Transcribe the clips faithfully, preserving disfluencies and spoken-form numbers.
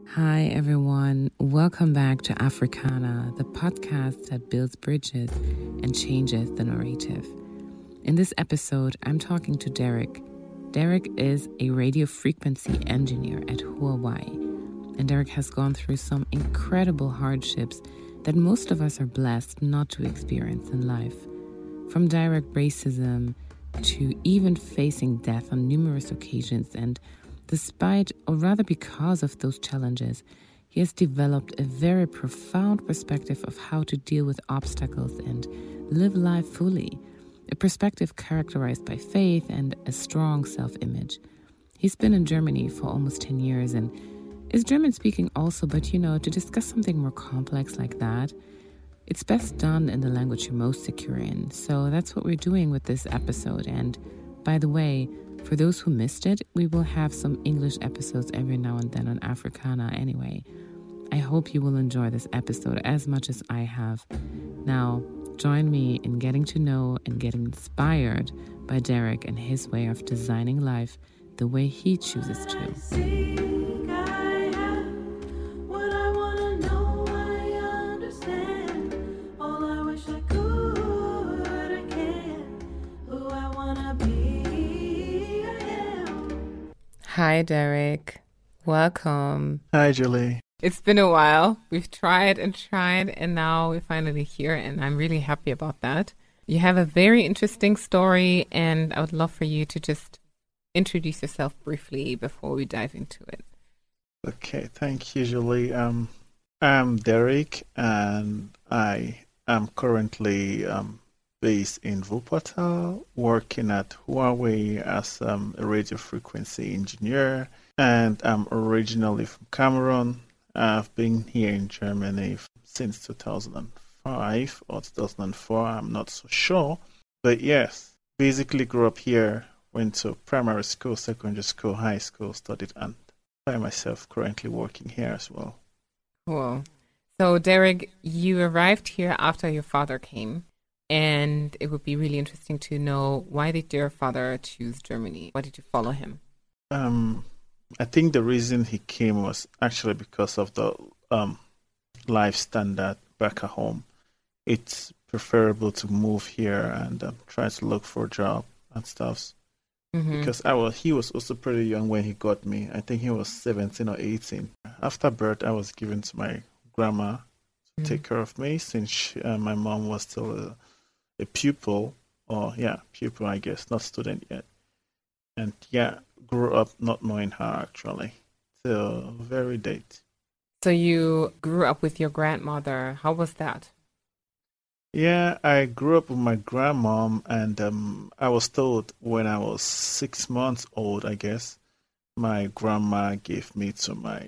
Hi, everyone. Welcome back to Africana, the podcast that builds bridges and changes the narrative. In this episode, I'm talking to Derek. Derek is a radio frequency engineer at Huawei, and Derek has gone through some incredible hardships that most of us are blessed not to experience in life. From direct racism to even facing death on numerous occasions, and despite, or rather because of those challenges, he has developed a very profound perspective of how to deal with obstacles and live life fully, a perspective characterized by faith and a strong self-image. He's been in Germany for almost ten years and is German speaking also, but you know, to discuss something more complex like that, it's best done in the language you're most secure in. So that's what we're doing with this episode. And by the way, for those who missed it, we will have some English episodes every now and then on Africana anyway. I hope you will enjoy this episode as much as I have. Now, join me in getting to know and getting inspired by Derek and his way of designing life the way he chooses to. Hi, Derek. Welcome. Hi, Julie. It's been a while. We've tried and tried, and now we're finally here, and I'm really happy about that. You have a very interesting story, and I would love for you to just introduce yourself briefly before we dive into it. Okay, thank you, Julie. Um, I'm Derek, and I am currently um, based in Wuppertal, working at Huawei as um, a radio frequency engineer, and I'm originally from Cameroon. I've been here in Germany since two thousand five or two thousand four, I'm not so sure. But yes, basically grew up here, went to primary school, secondary school, high school, studied, and I myself currently working here as well. Cool. So Derek, you arrived here after your father came. And it would be really interesting to know, why did your father choose Germany? Why did you follow him? Um, I think the reason he came was actually because of the um, life standard back at home. It's preferable to move here and um, try to look for a job and stuff. Mm-hmm. Because I was, he was also pretty young when he got me. I think he was seventeen or eighteen. After birth, I was given to my grandma to mm-hmm. take care of me, since she, uh, my mom was still a a pupil, or yeah, pupil, I guess, not student yet. And yeah, grew up not knowing her actually, till very date. So you grew up with your grandmother. How was that? Yeah, I grew up with my grandmom, and um, I was told when I was six months old, I guess, my grandma gave me to my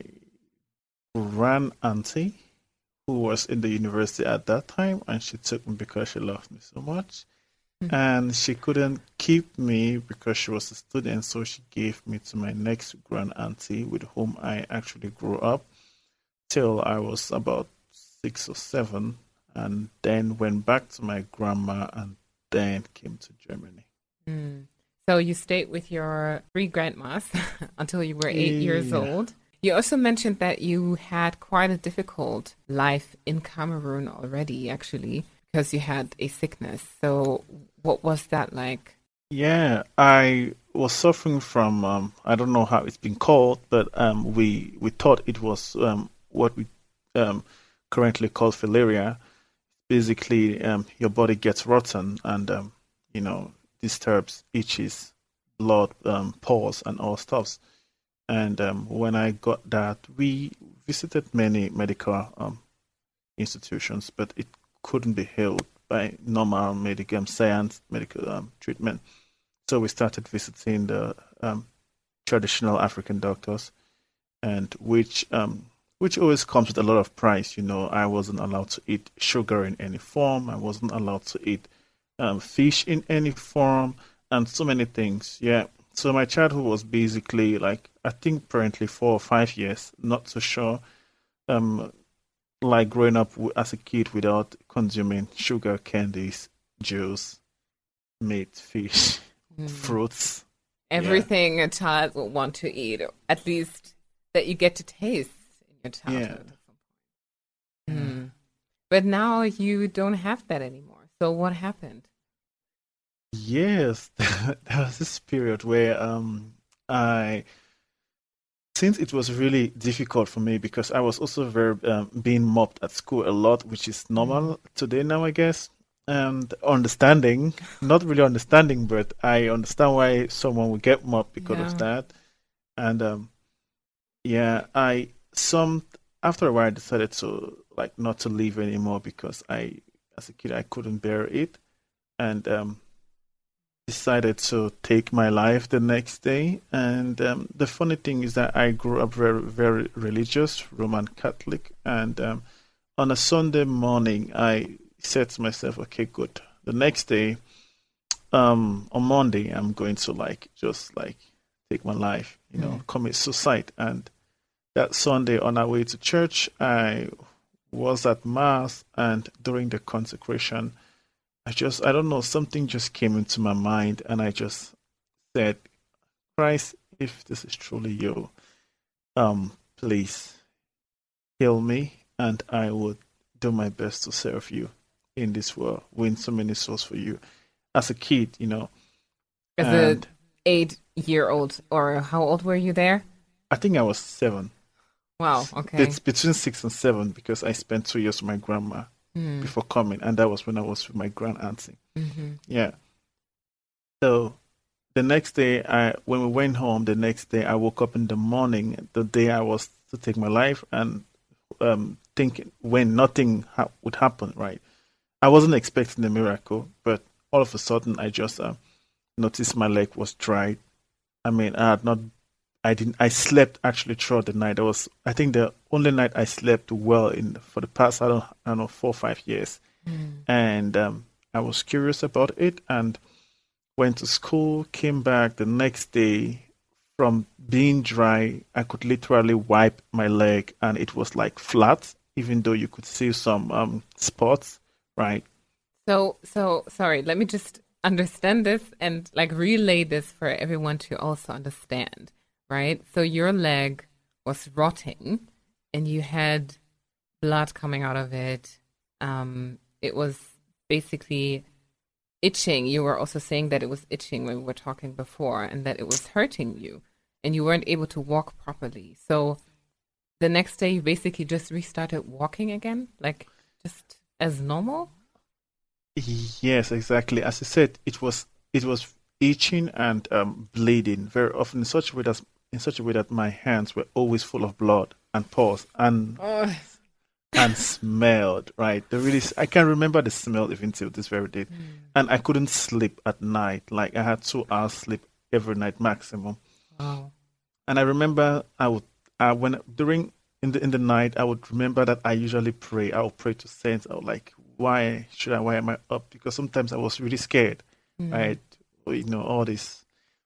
grand auntie, who was in the university at that time, and she took me because she loved me so much. Mm-hmm. And she couldn't keep me because she was a student, so she gave me to my next grand auntie, with whom I actually grew up till I was about six or seven, and then went back to my grandma and then came to Germany. Mm. So you stayed with your three grandmas until you were eight yeah. years old. You also mentioned that you had quite a difficult life in Cameroon already, actually, because you had a sickness. So what was that like? Yeah, I was suffering from, um, I don't know how it's been called, but um, we, we thought it was um, what we um, currently call filaria. Basically, um, your body gets rotten and, um, you know, disturbs, itches, blood, um, pores, and all stuffs. And um, when I got that, we visited many medical um, institutions, but it couldn't be healed by normal medical science medical um, treatment. So we started visiting the um, traditional African doctors, and which um, which always comes with a lot of price. You know, I wasn't allowed to eat sugar in any form. I wasn't allowed to eat um, fish in any form, and so many things. Yeah. So my childhood was basically like, I think apparently four or five years, not so sure, um, like growing up w- as a kid without consuming sugar, candies, juice, meat, fish, mm. fruits. Everything yeah. a child will want to eat, or at least that you get to taste in your Yeah. childhood at some point. Mm. But now you don't have that anymore. So what happened? Yes, there was this period where um I since it was really difficult for me because I was also very um, being mobbed at school a lot, which is Mm. normal today now, I guess. And understanding, not really understanding, but I understand why someone would get mobbed because of Yeah. that. And um, yeah, I some after a while I decided to like not to leave anymore because I, as a kid, I couldn't bear it, and um, decided to take my life the next day. And um, the funny thing is that I grew up very, very religious, Roman Catholic. And um, on a Sunday morning, I said to myself, okay, good. The next day, um, on Monday, I'm going to like just like take my life, you know, Mm. commit suicide. And that Sunday, on our way to church, I was at Mass, and during the consecration, I just, I don't know, something just came into my mind, and I just said, Christ, if this is truly you, um, please heal me, and I would do my best to serve you in this world, win so many souls for you. As a kid, you know, As a and eight year old, or how old were you there? I think I was seven. Wow, S- okay. It's between six and seven because I spent two years with my grandma Mm. before coming, and that was when I was with my grand auntie. Hmm. Yeah. So the next day, I when we went home, the next day I woke up in the morning, the day I was to take my life, and um, thinking when nothing ha- would happen. Right, I wasn't expecting a miracle, but all of a sudden I just uh, noticed my leg was dried. I mean, I had not, I didn't, I slept actually throughout the night. I was, I think, the only night I slept well in for the past, I don't, I don't know, four or five years, Mm. and um, I was curious about it, and went to school, came back the next day. From being dry, I could literally wipe my leg and it was like flat, even though you could see some um, spots, right? So, so sorry, let me just understand this and like relay this for everyone to also understand, right? So your leg was rotting and you had blood coming out of it. Um, it was basically itching. You were also saying that it was itching when we were talking before and that it was hurting you and you weren't able to walk properly. So the next day you basically just restarted walking again, like just as normal? Yes, exactly. As I said, it was it was itching and um, bleeding very often in such a way that in such a way that my hands were always full of blood and pus and Oh. and smelled, right? The really, I can remember the smell even till this very day. Mm. And I couldn't sleep at night. Like I had two hours sleep every night maximum. Wow. And I remember I would, uh, when during in the in the night, I would remember that I usually pray. I would pray to saints. I would like, why should I? Why am I up? Because sometimes I was really scared, Mm. right? You know, all these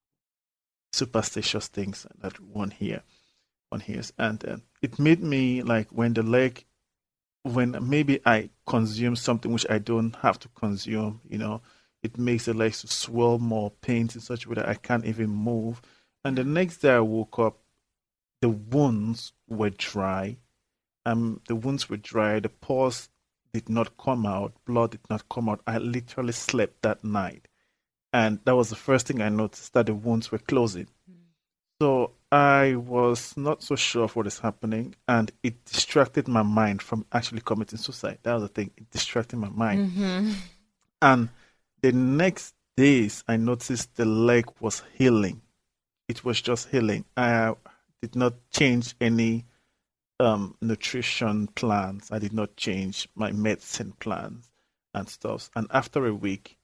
superstitious things that one hear, one hears, and uh, it made me like when the leg when maybe I consume something which I don't have to consume, you know, it makes the legs to swell more, pains in such a way that I can't even move. And the Yeah. next day I woke up, the wounds were dry. Um, the wounds were dry. The pores did not come out. Blood did not come out. I literally slept that night, and that was the first thing I noticed that the wounds were closing. Mm. So I was not so sure of what is happening, and it distracted my mind from actually committing suicide. That was the thing; it distracted my mind. Mm-hmm. And the next days, I noticed the leg was healing. It was just healing. I did not change any um, nutrition plans. I did not change my medicine plans and stuff. And after a week,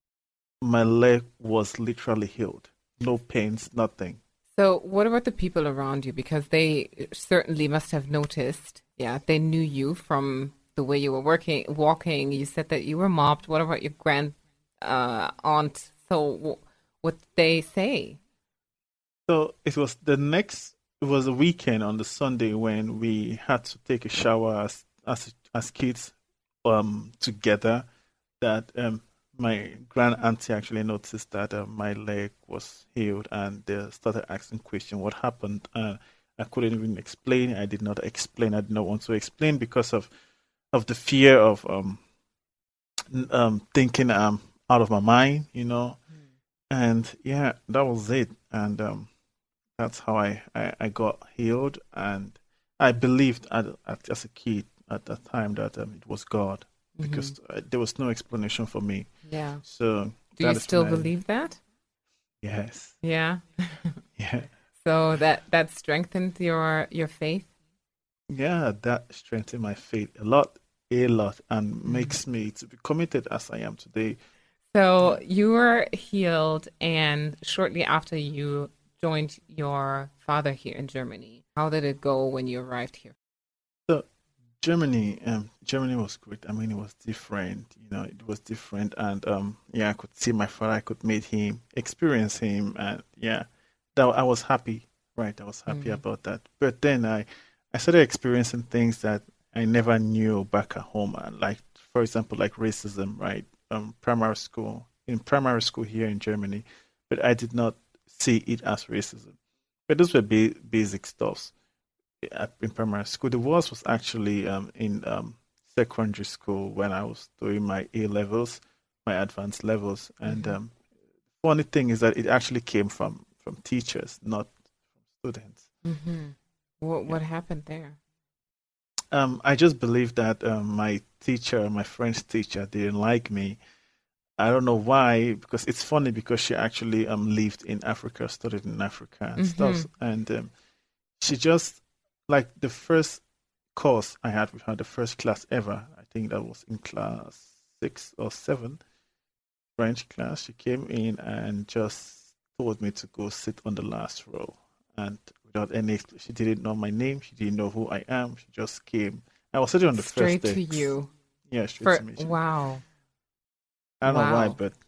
my leg was literally healed. No pains, nothing. So, what about the people around you? Because they certainly must have noticed. Yeah, they knew you from the way you were working, walking. You said that you were mobbed. What about your grand uh, aunt? So, wh- what did they say? So it was the next. It was a weekend on the Sunday when we had to take a shower as as as kids, um, together. That um, my grand auntie actually noticed that uh, my leg was healed, and they started asking question what happened. Uh, I couldn't even explain. I did not explain. I did not want to explain because of of the fear of um um thinking um out of my mind, you know. And yeah, that was it. And um that's how I, I, I got healed. And I believed at, at, as a kid at that time that um, it was God because Mm-hmm. uh, there was no explanation for me. Yeah. So Do that you is still when I, believe that? yes, Yeah. yeah, So that that strengthened your your faith. yeah, that strengthened my faith a lot, a lot, and Mm. makes me to be committed as I am today. So Yeah. you were healed, and shortly after you joined your father here in Germany. How did it go when you arrived here? So Germany, um, Germany was great. I mean, it was different. You know, it was different, and um, yeah, I could see my father. I could meet him, experience him, and yeah, that I was happy. Right, I was happy Mm. about that. But then I, I started experiencing things that I never knew back at home, and like, for example, like racism. Right, um, primary school in primary school here in Germany, but I did not see it as racism. But those were ba- basic stuffs at, in primary school. The worst was actually um, in um, secondary school when I was doing my A levels, my advanced levels. And Mm-hmm. um, funny thing is that it actually came from from teachers, not students. Mm-hmm. What Yeah. what happened there? Um, I just believe that um, my teacher, my French teacher, didn't like me. I don't know why, because it's funny because she actually um lived in Africa, studied in Africa and Mm-hmm. stuff, and um, she just like the first course I had with her, the first class ever. I think that was in class six or seven, French class. She came in and just told me to go sit on the last row. And without any, she didn't know my name. She didn't know who I am. She just came. I was sitting on the first Straight to desk. you. Yeah, straight For to me. She, wow. I don't know why, Wow. but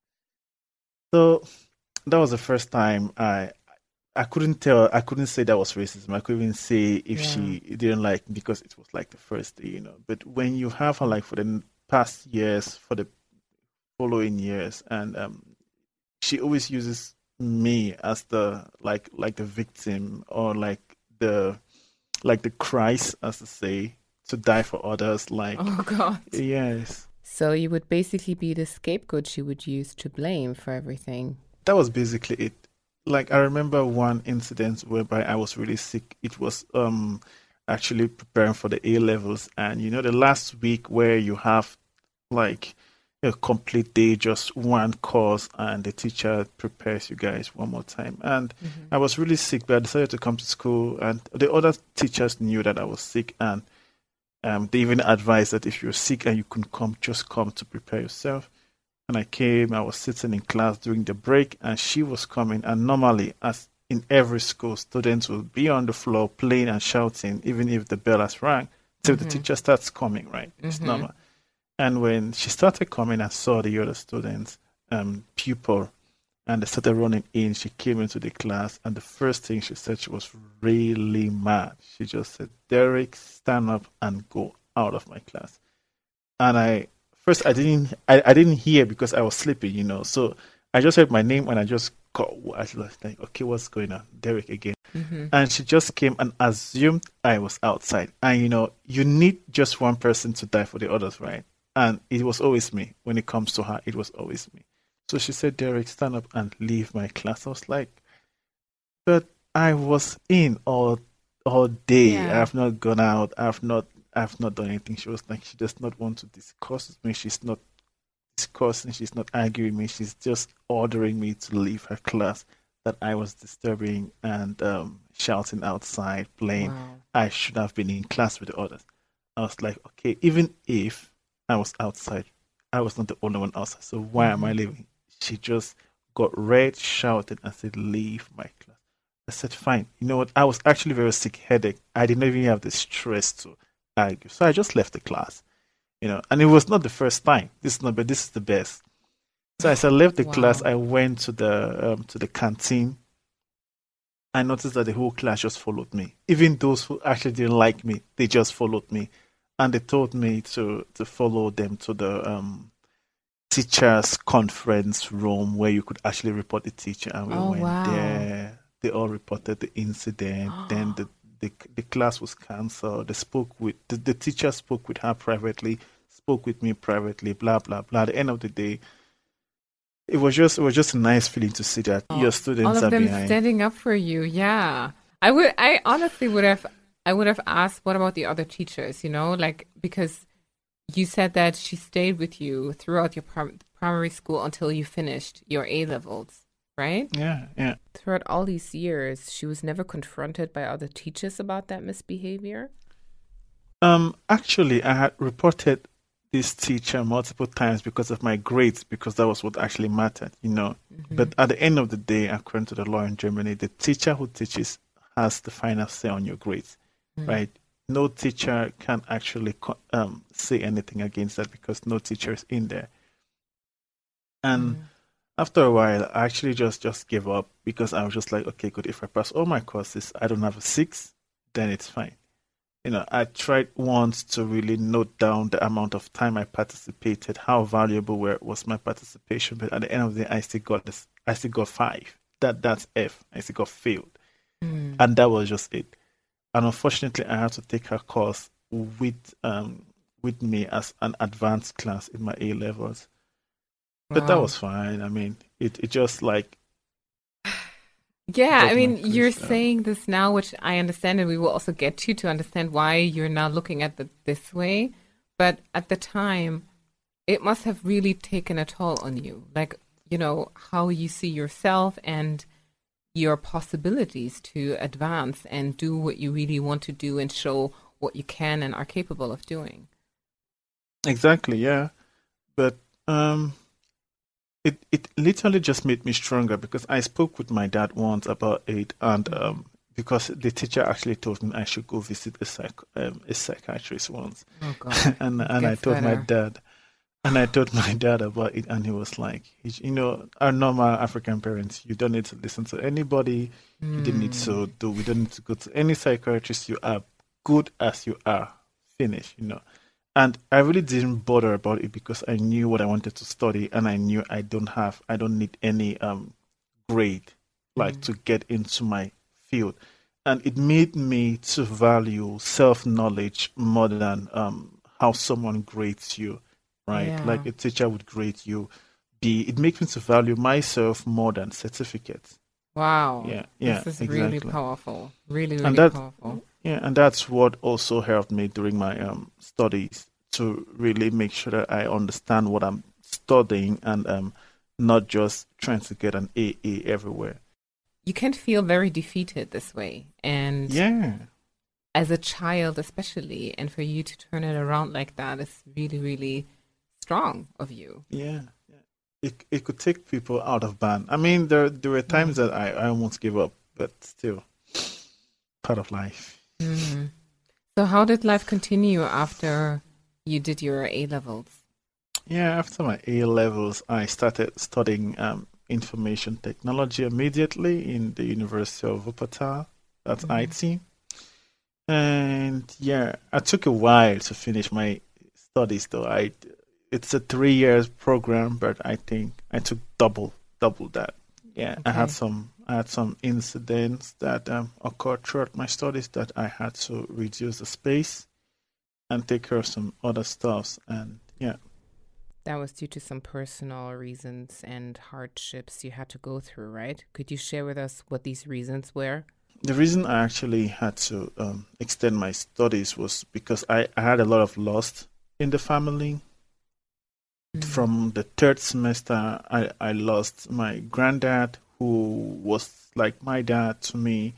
so that was the first time I I couldn't tell. I couldn't say that was racism. I couldn't even say if Yeah. she didn't like me because it was like the first day, you know. But when you have her like for the past years, for the following years, and um, she always uses me as the like like the victim or like the like the Christ, as to say, to die for others. Like Oh God. yes, So you would basically be the scapegoat she would use to blame for everything. that was basically it. Like I remember one incident whereby I was really sick. It was um actually preparing for the A levels, and you know the last week where you have like a complete day, just one course, and the teacher prepares you guys one more time. And Mm-hmm. I was really sick, but I decided to come to school, and the other teachers knew that I was sick, and um, they even advised that if you're sick and you can come, just come to prepare yourself. And I came, I was sitting in class during the break, and she was coming. And normally, as in every school, students will be on the floor playing and shouting, even if the bell has rang, till the Mm-hmm. teacher starts coming, right? It's Mm-hmm. normal. And when she started coming, I saw the other students, um, pupil, and they started running in. She came into the class, and the first thing she said, she was really mad. She just said, "Derek, stand up and go out of my class." And I first I didn't I, I didn't hear because I was sleeping, you know. So I just heard my name and I just got I was like, okay, what's going on? Derek again. Mm-hmm. And she just came and assumed I was outside. And you know, you need just one person to die for the others, right? And it was always me. When it comes to her, it was always me. So she said, Derek, stand up and leave my class. I was like, but I was in all all day. I Yeah. have not gone out. I have not I've not done anything. She was like, she does not want to discuss with me. She's not discussing. She's not arguing me. She's just ordering me to leave her class. That I was disturbing and um, shouting outside, playing. Wow. I should have been in class with the others. I was like, okay, even if I was outside, I was not the only one outside. So why am I Mm-hmm. leaving? She just got red, shouted, and said, leave my class. I said, fine. You know what? I was actually very sick, headache. I did not even have the stress to argue. So I just left the class, you know, and it was not the first time. This is not, but this is the best. So as I left the class, Wow. I went to the um, to the canteen. I noticed that the whole class just followed me. Even those who actually didn't like me, they just followed me, and they told me to to follow them to the um, teachers' conference room where you could actually report the teacher. And we Oh went wow. there. they all reported the incident. Then the, the the class was cancelled. They spoke with the, the teacher spoke with her privately, spoke with me privately, blah blah blah. At the end of the day, it was just it was just a nice feeling to see that your students All of are them behind. standing up for you. Yeah. I would I honestly would have I would have asked what about the other teachers, you know, like because you said that she stayed with you throughout your prim- primary school until you finished your A levels, right? Yeah, yeah. Throughout all these years, she was never confronted by other teachers about that misbehavior? Um, actually, I had reported this teacher multiple times because of my grades, because that was what actually mattered, you know. Mm-hmm. But at the end of the day, according to the law in Germany, the teacher who teaches has the final say on your grades, Mm. right? No teacher can actually co- um, say anything against that because no teacher is in there. And Mm. after a while, I actually just just gave up because I was just like, okay, good. If I pass all my courses, I don't have a six, then it's fine. You know, I tried once to really note down the amount of time I participated, how valuable were, was my participation, but at the end of the day, I still got this. I still got five. That that's F. I still got failed, Mm. and that was just it. And unfortunately, I had to take her course with um with me as an advanced class in my A levels. But that Wow. was fine. I mean, it, it just like Yeah, I got my mean, you're grades down. saying this now, which I understand, and we will also get to to understand why you're now looking at it this way. But at the time, it must have really taken a toll on you, like, you know, how you see yourself and your possibilities to advance and do what you really want to do and show what you can and are capable of doing. Exactly, yeah. But um, it it literally just made me stronger because I spoke with my dad once about it, and um, because the teacher actually told me I should go visit a psych um, a psychiatrist once, Oh God, and it and I gets told my better. dad, and I told my dad about it, and he was like, he, you know, our normal African parents, you don't need to listen to anybody, you didn't need Mm. to do, we don't need to go to any psychiatrist. You are good as you are. Finish, you know. And I really didn't bother about it because I knew what I wanted to study, and I knew I don't have, I don't need any um grade like Mm. to get into my field. And it made me to value self-knowledge more than um how someone grades you, right? Yeah. Like a teacher would grade you. Be it makes me to value myself more than certificates. Wow. Yeah, yeah, This is really exactly. powerful. Really, And really that, powerful. yeah, and that's what also helped me during my um studies to really make sure that I understand what I'm studying and um not just trying to get an A A everywhere. You can feel very defeated this way. And Yeah, as a child, especially, and for you to turn it around like that is really, really strong of you. yeah, yeah. It it could take people out of band. I mean, there there were Yeah. times that I I almost gave up, but still part of life. Hmm. So, how did life continue after you did your A levels? Yeah, after my A levels, I started studying um, information technology immediately in the University of Wuppertal. That's Hmm. I T. And yeah, I took a while to finish my studies though. I it's a three years program, but I think I took double double that. Yeah, I had Okay. some I had some incidents that um, occurred throughout my studies that I had to reduce the space and take care of some other stuffs. And yeah. That was due to some personal reasons and hardships you had to go through, right? Could you share with us what these reasons were? The reason I actually had to um, extend my studies was because I, I had a lot of loss in the family. Mm. From the third semester, I, I lost my granddad, who was like my dad to me,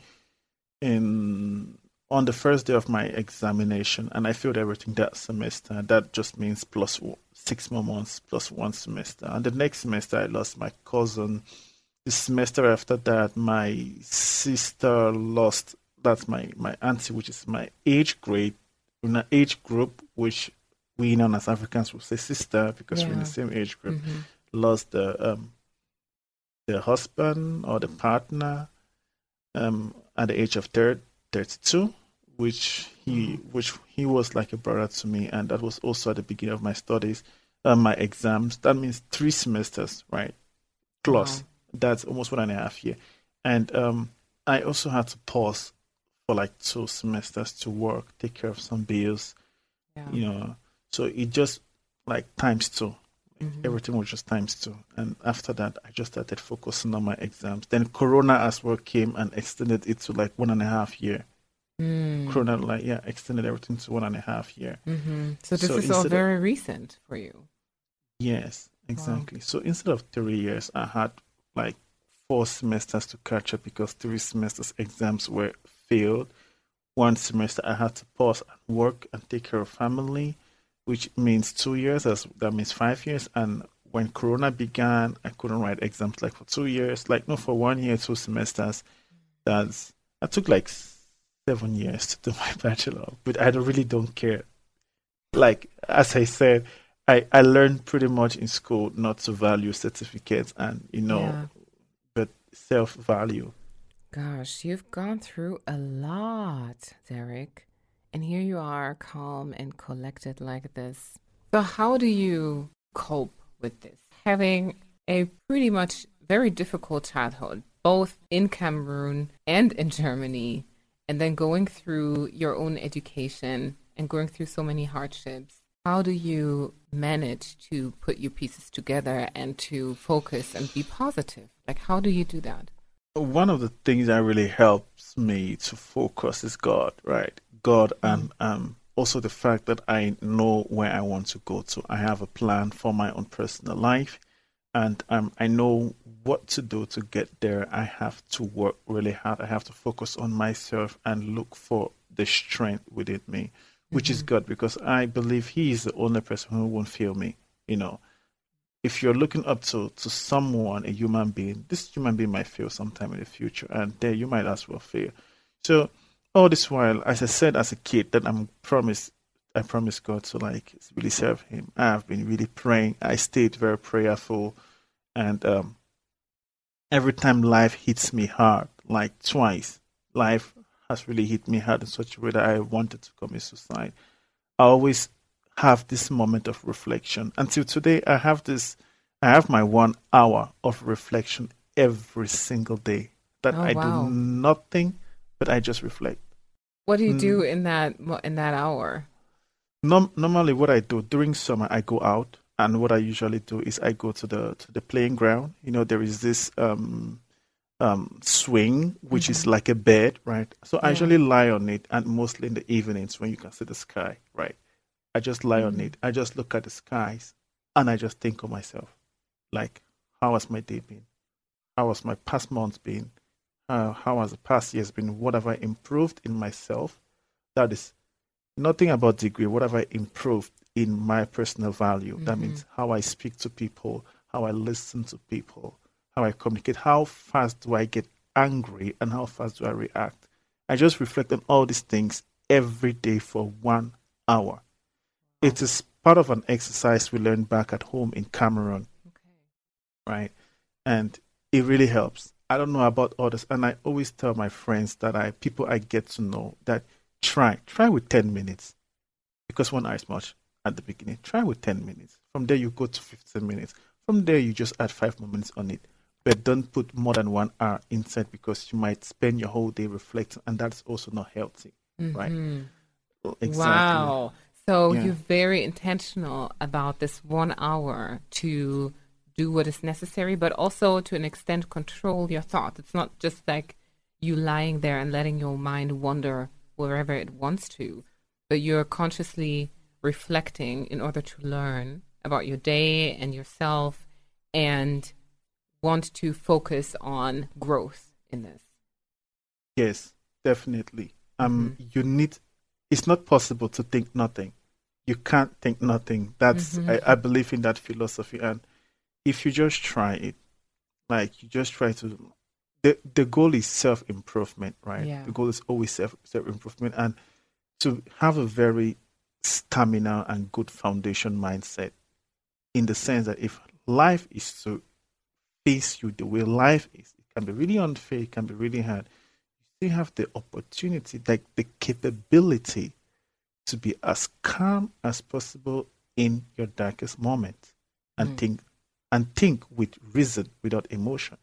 in on the first day of my examination, and I failed everything that semester. That just means plus one, six more months plus one semester. And the next semester, I lost my cousin. The semester after that, my sister lost. That's my my auntie, which is my age grade, in an age group, which we known as Africans would say sister because we're in the Yeah. same age group. Hmm. Lost the um the husband or the partner um at the age of third, thirty-two, which he which he was like a brother to me, and that was also at the beginning of my studies, uh, my exams. That means three semesters, right? Wow. Plus, that's almost one and a half year. And um, I also had to pause for like two semesters to work, take care of some bills, Yeah. you know. So it just like times two. Mhm. Everything was just times two. And after that, I just started focusing on my exams. Then Corona as well came and extended it to like one and a half year. Mm. Corona, like, yeah, extended everything to one and a half year. Mm-hmm. So this So is all instead of- very recent for you. Yes, exactly. So instead of three years, I had like four semesters to catch up because three semesters exams were failed. One semester I had to pause and work and take care of family, which means two years. As that means five years. And when Corona began, I couldn't write exams like for two years. Like no, for one year, two semesters. That's I took like seven years to do my bachelor, but I don't, really don't care. Like as I said, I I learned pretty much in school not to value certificates and you know, Yeah. but self value. Gosh, you've gone through a lot, Derek. And here you are, calm and collected like this. So, how do you cope with this? Having a pretty much very difficult childhood, both in Cameroon and in Germany, and then going through your own education and going through so many hardships. How do you manage to put your pieces together and to focus and be positive? Like, how do you do that? One of the things that really helps me to focus is God, right? God, and um, also the fact that I know where I want to go to. I have a plan for my own personal life, and um, I know what to do to get there. I have to work really hard. I have to focus on myself and look for the strength within me, which is God, because I believe He is the only person who won't fail me, you know. If you're looking up to, to someone, a human being, this human being might fail sometime in the future, and there you might as well fail. So all this while, as I said as a kid, that I'm promised, I promised God to like really serve Him. I have been really praying. I stayed very prayerful, and um, every time life hits me hard, like twice, life has really hit me hard in such a way that I wanted to commit suicide. I always have this moment of reflection. Until today, I have this, I have my one hour of reflection every single day that Oh, I wow. do nothing, but I just reflect. What do you do Mm. in that in that hour? Norm- normally, what I do during summer, I go out, and what I usually do is I go to the to the playing ground. You know, there is this um um swing which is like a bed, right? So I Yeah. usually lie on it, and mostly in the evenings when you can see the sky, right? I just lie on it. I just look at the skies, and I just think of myself, like, how has my day been? How has my past month been? Uh, how has the past years been? What have I improved in myself? That is nothing about degree. What have I improved in my personal value? That means how I speak to people, how I listen to people, how I communicate. How fast do I get angry, and how fast do I react? I just reflect on all these things every day for one hour. It is part of an exercise we learned back at home in Cameroon, Okay. right? And it really helps. I don't know about others, and I always tell my friends that I people I get to know that try try with ten minutes, because one hour is much at the beginning. Try with ten minutes. From there you go to fifteen minutes. From there you just add five more minutes on it. But don't put more than one hour inside, because you might spend your whole day reflecting, and that's also not healthy, right? Exactly. Wow. So Yeah. you're very intentional about this one hour to do what is necessary, but also to an extent control your thoughts. It's not just like you lying there and letting your mind wander wherever it wants to, but you're consciously reflecting in order to learn about your day and yourself and want to focus on growth in this. Yes, definitely. Um, you need. It's not possible to think nothing. You can't think nothing. That's I, I believe in that philosophy. And if you just try it, like you just try to, the the goal is self improvement, right? Yeah. The goal is always self self improvement, and to have a very stamina and good foundation mindset. In the sense that if life is to face you the way life is, it can be really unfair. It can be really hard. You have the opportunity, like the capability, to be as calm as possible in your darkest moment, and think and think with reason without emotions.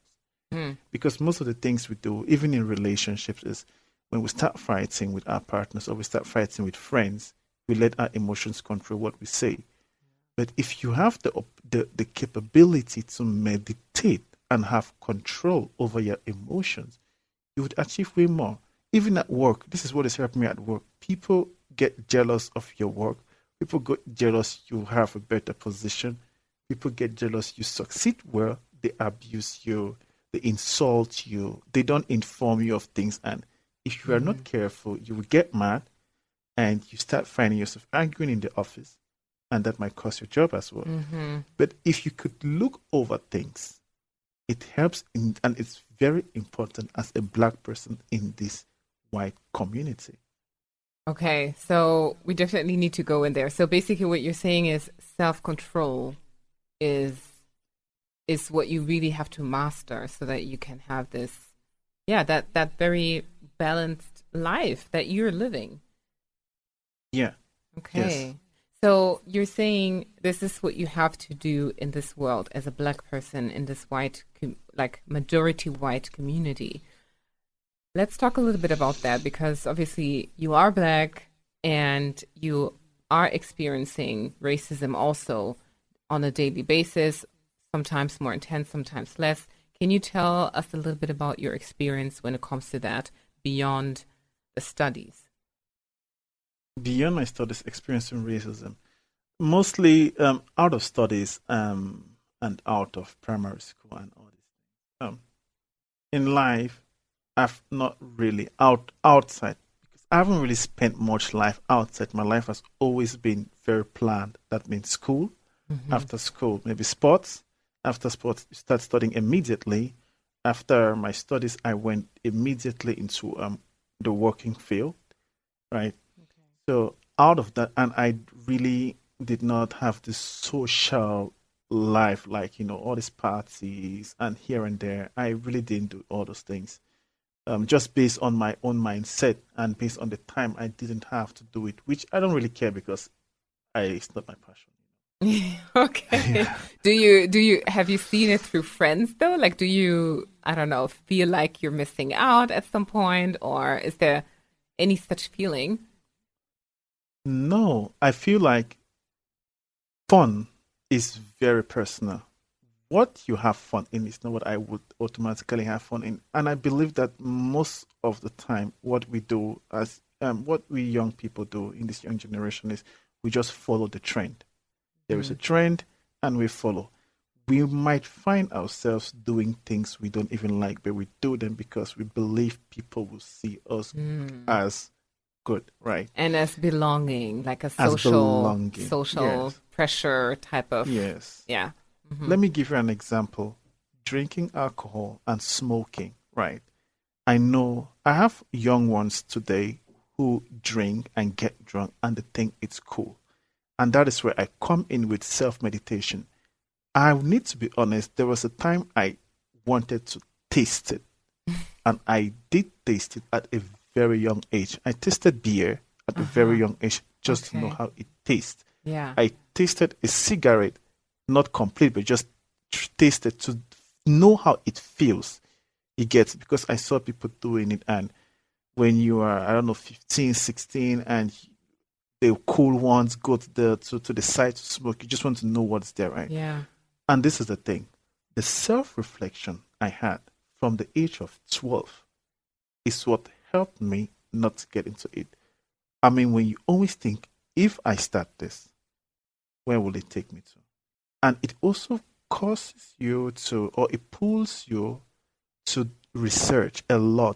Mm. Because most of the things we do, even in relationships, is when we start fighting with our partners or we start fighting with friends, we let our emotions control what we say. But if you have the, the, the capability to meditate and have control over your emotions, you would achieve way more. Even at work, this is what is helping me at work. People get jealous of your work. People get jealous you have a better position. People get jealous you succeed well. They abuse you. They insult you. They don't inform you of things. And if you are mm-hmm. not careful, you will get mad and you start finding yourself arguing in the office. And that might cost your job as well. Mm-hmm. But if you could look over things, it helps, in, and it's very important as a Black person in this white community. Okay, so we definitely need to go in there. So basically what you're saying is self-control is is what you really have to master so that you can have this, yeah, that, that very balanced life that you're living. Yeah. Okay. Yes. So you're saying this is what you have to do in this world as a Black person in this white, com- like majority white community. Let's talk a little bit about that, because obviously you are Black and you are experiencing racism also on a daily basis, sometimes more intense, sometimes less. Can you tell us a little bit about your experience when it comes to that beyond the studies? Beyond my studies, experiencing racism, mostly um, out of studies um, and out of primary school and all this. Um, in life, I've not really out outside because I haven't really spent much life outside. My life has always been very planned. That means school, mm-hmm. after school, maybe sports. After sports, you start studying immediately. After my studies, I went immediately into um, the working field, right? Okay. So out of that, and I really did not have this social life, like, you know, all these parties and here and there. I really didn't do all those things. Um, just based on my own mindset and based on the time I didn't have to do it, which I don't really care because I, it's not my passion. Okay. Yeah. Do you do you have you seen it through friends though? Like, do you, I don't know, feel like you're missing out at some point, or is there any such feeling? No, I feel like fun is very personal. What you have fun in is not what I would automatically have fun in. And I believe that most of the time, what we do as um, what we young people do in this young generation is we just follow the trend. There mm. is a trend and we follow. We might find ourselves doing things we don't even like, but we do them because we believe people will see us mm. as good, right? And as belonging, like a social, social yes. pressure type of. Yes. Yeah. Mm-hmm. Let me give you an example. Drinking alcohol and smoking, right? I know I have young ones today who drink and get drunk and they think it's cool. And that is where I come in with self-meditation. I need to be honest, there was a time I wanted to taste it. And I did taste it at a very young age. I tasted beer at uh-huh. a very young age just okay. to know how it tastes. Yeah. I tasted a cigarette, not complete, but just tasted to know how it feels. You get, because I saw people doing it, and when you are, I don't know, fifteen, sixteen, and the cool ones go to the to, to the side to smoke, you just want to know what's there, right? Yeah. And this is the thing. The self-reflection I had from the age of twelve is what helped me not to get into it. I mean, when you always think, if I start this, where will it take me to? And it also causes you to, or it pulls you to research a lot,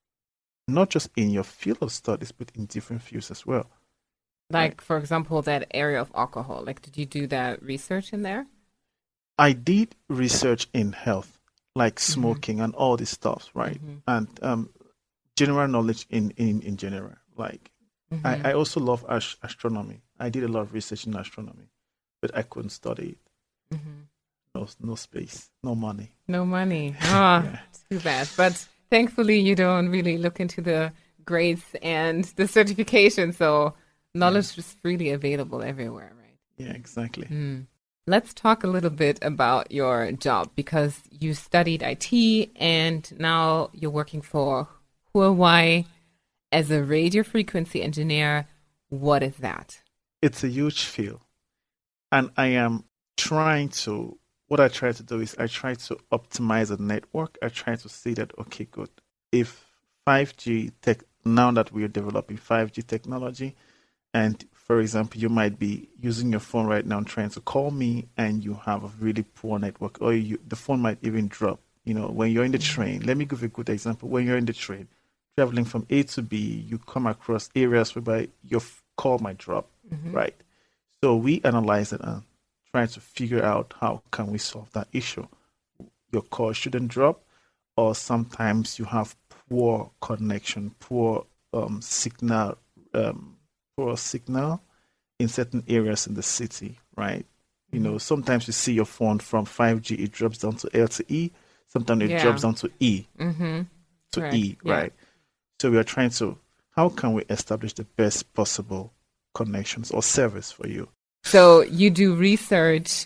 not just in your field of studies, but in different fields as well. Like, right? For example, that area of alcohol. Like, did you do that research in there? I did research in health, like smoking mm-hmm. and all this stuff, right? Mm-hmm. And um, general knowledge in, in, in general. Like, mm-hmm. I, I also love ast- astronomy. I did a lot of research in astronomy, but I couldn't study it. Mm-hmm. No, no space, no money. No money. Ah, yeah. Too bad. But thankfully, you don't really look into the grades and the certification, so knowledge yeah. is freely available everywhere, right? Yeah, exactly. Mm. Let's talk a little bit about your job because you studied I T and now you're working for Huawei as a radio frequency engineer. What is that? It's a huge field. And I am trying to, what I try to do is I try to optimize a network. I try to see that, okay, good. If five G tech, now that we are developing five G technology, and for example, you might be using your phone right now trying to call me and you have a really poor network, or you, the phone might even drop. You know, when you're in the train, let me give you a good example. When you're in the train, traveling from A to B, you come across areas whereby your f- call might drop, Mm-hmm. right? So we analyze it and try to figure out how can we solve that issue. Your call shouldn't drop, or sometimes you have poor connection, poor um, signal, um, poor signal in certain areas in the city, right? You know, sometimes you see your phone from five G, it drops down to L T E. Sometimes it Yeah. drops down to E, Mm-hmm. to Correct. E, Yeah. right? So we are trying to, how can we establish the best possible connections or service for you? So you do research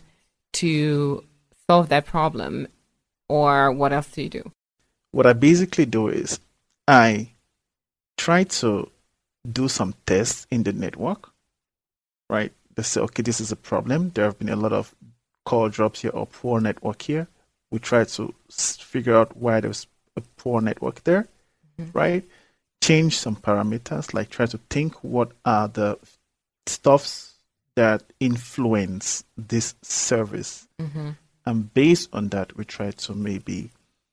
to solve that problem, or what else do you do? What I basically do is I try to do some tests in the network, right? They say, okay, this is a problem. There have been a lot of call drops here or poor network here. We try to s- figure out why there's a poor network there, Mhm. right? Change some parameters, like try to think what are the stuffs that influence this service. Mm-hmm. And based on that, we try to maybe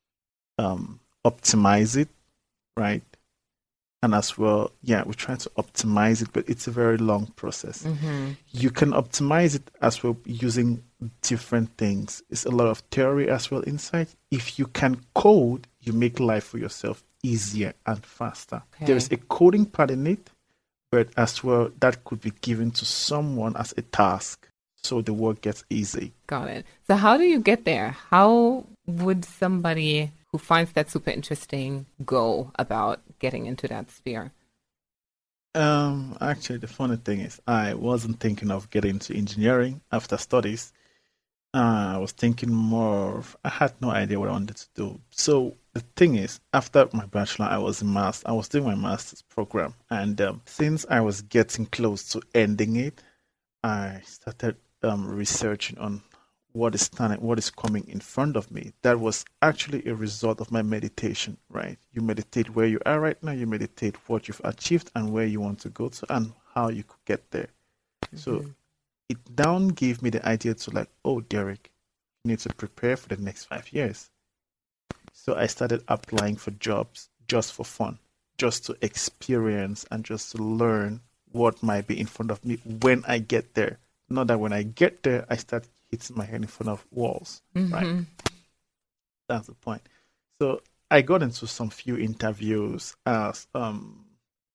um, optimize it, right? And as well, yeah, we try to optimize it, but it's a very long process. Mm-hmm. You can optimize it as well using different things. It's a lot of theory as well inside. If you can code, you make life for yourself easier and faster. Okay. There is a coding part in it, but as well, that could be given to someone as a task, so the work gets easy. Got it. So how do you get there? How would somebody who finds that super interesting go about getting into that sphere? Um, actually, the funny thing is, I wasn't thinking of getting into engineering after studies. Uh, I was thinking more of, I had no idea what I wanted to do. So the thing is, after my bachelor, I was in math. I was doing my master's program, and um, since I was getting close to ending it, I started um, researching on what is standing, what is coming in front of me. That was actually a result of my meditation, right? You meditate where you are right now, you meditate what you've achieved and where you want to go to and how you could get there. So Mhm. it down gave me the idea to like, oh, Derek, you need to prepare for the next five years. So I started applying for jobs just for fun, just to experience and just to learn what might be in front of me when I get there. Not that when I get there, I start hitting my head in front of walls, right? Mhm. That's the point. So I got into some few interviews as um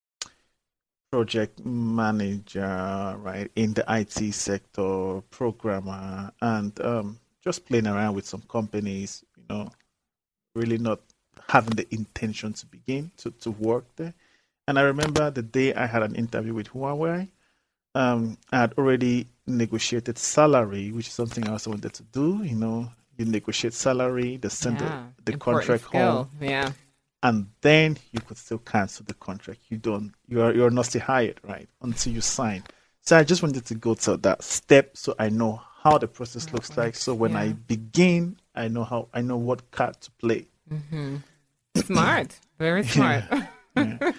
project manager, right, in the I T sector, programmer, and um, just playing around with some companies, you know, really not having the intention to begin to, to work there. And I remember the day I had an interview with Huawei, um, I had already negotiated salary, which is something I also wanted to do, you know, you negotiate salary, they send the, Yeah. the Important contract skill. home, Yeah. and then you could still cancel the contract. You don't, you are you're not still hired, right? Until you sign. So I just wanted to go to that step so I know how the process How it looks like. works. So when I Yeah. begin, I know how I know what card to play. Mm-hmm. Smart. Very smart. Yeah.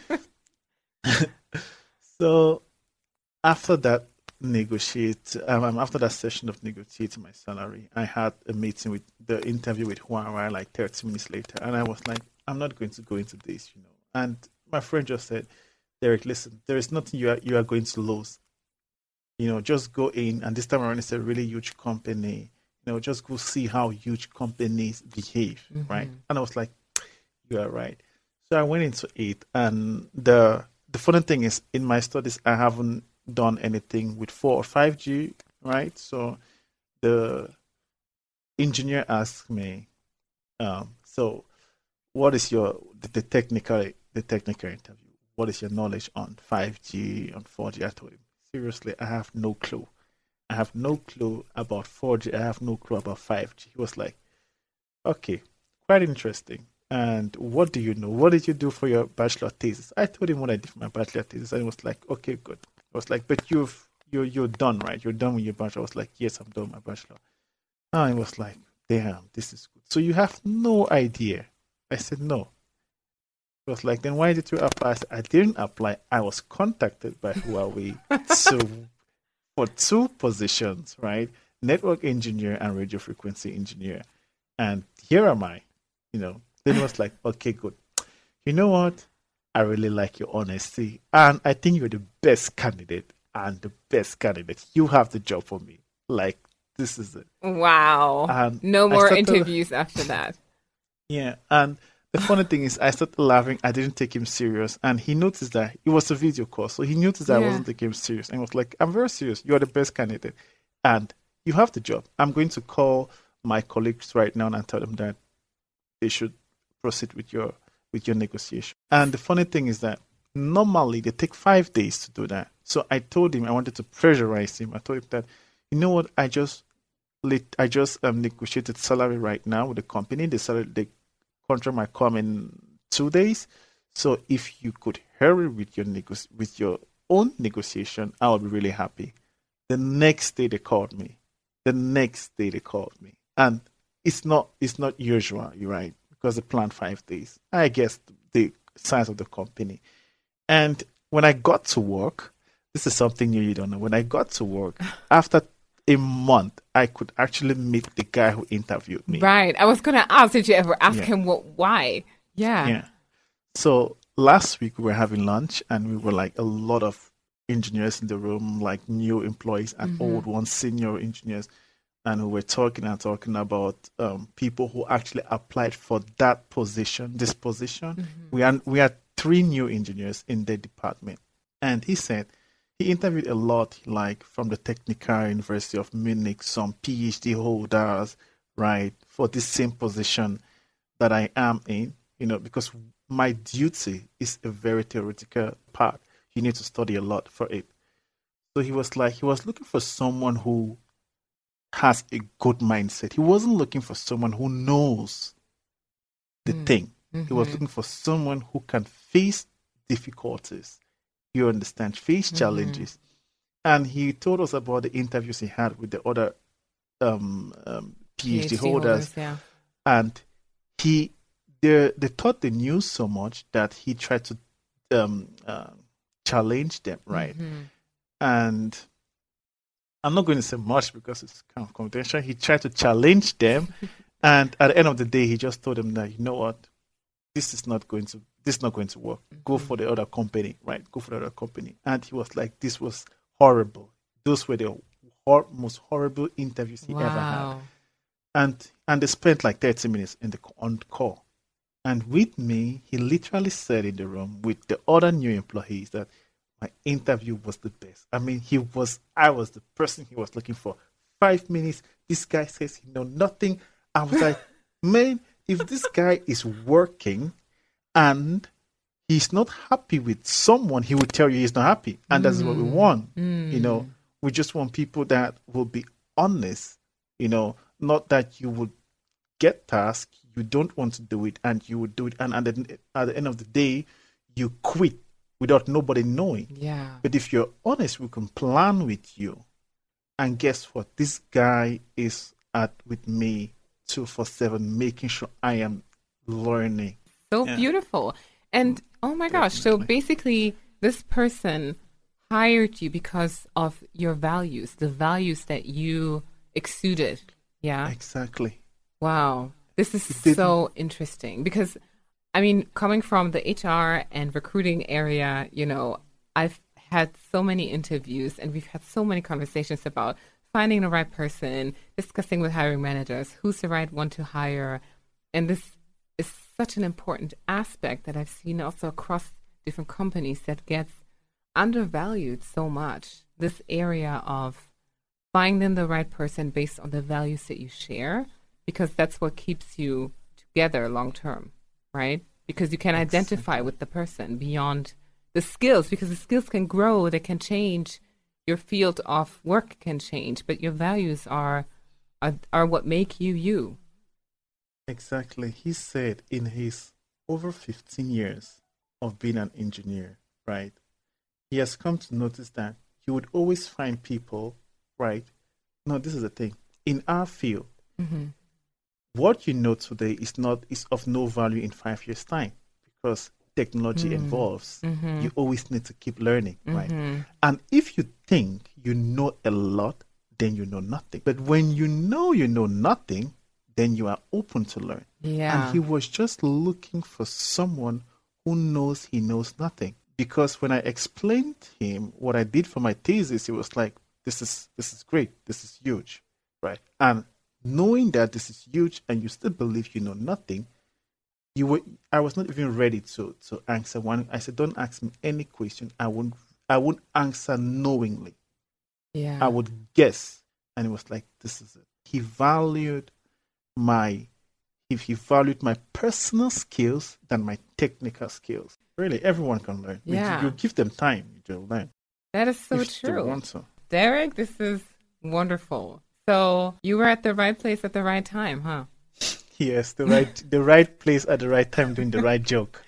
So after that negotiate um, um, after that session of negotiating my salary, I had a meeting with the interview with Huawei like thirty minutes later, and I was like, I'm not going to go into this, you know. And my friend just said, Derek, listen, there is nothing you are you are going to lose. You know, just go in, and this time around it's a really huge company. You know, just go see how huge companies behave, right? Mm-hmm. And I was like, you are right. So I went into it, and the the funny thing is, in my studies, I haven't done anything with four or five G, right? So the engineer asked me, um, so what is your the, the technical the technical interview? What is your knowledge on five G, on four G? I told him, seriously, I have no clue. I have no clue about four G. I have no clue about five G. He was like, okay, quite interesting. And what do you know? What did you do for your bachelor thesis? I told him what I did for my bachelor thesis, and he was like, okay, good. I was like, but you've you're you're done, right? You're done with your bachelor. I was like, yes, I'm done with my bachelor. And he was like, damn, this is good. So you have no idea. I said, no. He was like, then why did you apply? I said, I didn't apply. I was contacted by Huawei so for two positions, right? Network engineer and radio frequency engineer. And here am I, you know. Then it was like, okay, good. You know what? I really like your honesty. And I think you're the best candidate and the best candidate. You have the job for me. Like, this is it. Wow. And no more started, interviews after that. Yeah. And the funny thing is, I started laughing. I didn't take him serious. And he noticed that it was a video call. So he noticed that yeah. I wasn't taking him serious. And he was like, I'm very serious. You're the best candidate. And you have the job. I'm going to call my colleagues right now and tell them that they should proceed with your with your negotiation. And the funny thing is that normally they take five days to do that. So I told him I wanted to pressurize him. I told him that, you know what, I just I just um, negotiated salary right now with the company. The salary, the contract might come in two days. So if you could hurry with your nego- with your own negotiation, I would be really happy. The next day they called me. The next day they called me, and it's not it's not usual, you're right, because they planned five days. I guess the size of the company. And when I got to work, this is something new you don't know. When I got to work, after a month, I could actually meet the guy who interviewed me. Right. I was going to ask, did you ever ask yeah. him what, why? Yeah. Yeah. So last week we were having lunch, and we were like a lot of engineers in the room, like new employees and mm-hmm. old ones, senior engineers. And we were talking and talking about um, people who actually applied for that position, this position. Mm-hmm. We are, we had three new engineers in the department. And he said he interviewed a lot, like from the Technical University of Munich, some PhD holders, right, for this same position that I am in, you know, because my duty is a very theoretical part. You need to study a lot for it. So he was like, he was looking for someone who has a good mindset. He wasn't looking for someone who knows the mm. thing. Mm-hmm. He was looking for someone who can face difficulties. You understand? Face mm-hmm. challenges. And he told us about the interviews he had with the other um, um, PhD, PhD holders. holders yeah. And he, they, they thought they knew so much that he tried to um, uh, challenge them, right? Mm-hmm. And I'm not going to say much because it's kind of confidential. He tried to challenge them, and at the end of the day, he just told them that, you know what, this is not going to this is not going to work. Mm-hmm. Go for the other company, right? Go for the other company. And he was like, this was horrible. Those were the hor- most horrible interviews he wow. ever had. And and they spent like thirty minutes in the on the call. And with me, he literally said in the room with the other new employees that my interview was the best. I mean, he was, I was the person he was looking for. Five minutes, this guy says he knows nothing. I was like, man, if this guy is working and he's not happy with someone, he will tell you he's not happy. And mm. that's what we want. Mm. You know, we just want people that will be honest, you know, not that you would get tasks, you don't want to do it, and you would do it. And, and then at the end of the day, you quit without nobody knowing. Yeah. But if you're honest, we can plan with you. And guess what? This guy is at with me two four seven, making sure I am learning. So yeah. beautiful. And oh my gosh, Definitely. So basically this person hired you because of your values, the values that you exuded. Yeah. Exactly. Wow. This is so interesting because I mean, coming from the H R and recruiting area, you know, I've had so many interviews and we've had so many conversations about finding the right person, discussing with hiring managers, who's the right one to hire. And this is such an important aspect that I've seen also across different companies that gets undervalued so much. This area of finding the right person based on the values that you share, because that's what keeps you together long term. Right? Because you can identify with the person beyond the skills, because the skills can grow, they can change, your field of work can change, but your values are are, are what make you you. Exactly. He said in his over fifteen years of being an engineer, right? He has come to notice that you would always find people, right? No, this is the thing. In our field, Mm-hmm. what you know today is not is of no value in five years' time because technology Mm. evolves. Mm-hmm. You always need to keep learning, right? Mm-hmm. And if you think you know a lot, then you know nothing. But when you know you know nothing, then you are open to learn. Yeah. And he was just looking for someone who knows he knows nothing. Because when I explained to him what I did for my thesis, he was like, this is this is great. This is huge. Right. And knowing that this is huge and you still believe you know nothing, you were I was not even ready to to answer one. I said, don't ask me any question. I won't I won't answer knowingly. Yeah. I would guess. And it was like, this is it. He valued my if he valued my personal skills than my technical skills. Really, everyone can learn. Yeah. You, you give them time, you'll learn. That is so if they true. want to. Derek, this is wonderful. So you were at the right place at the right time, huh? Yes, the right the right place at the right time doing the right joke.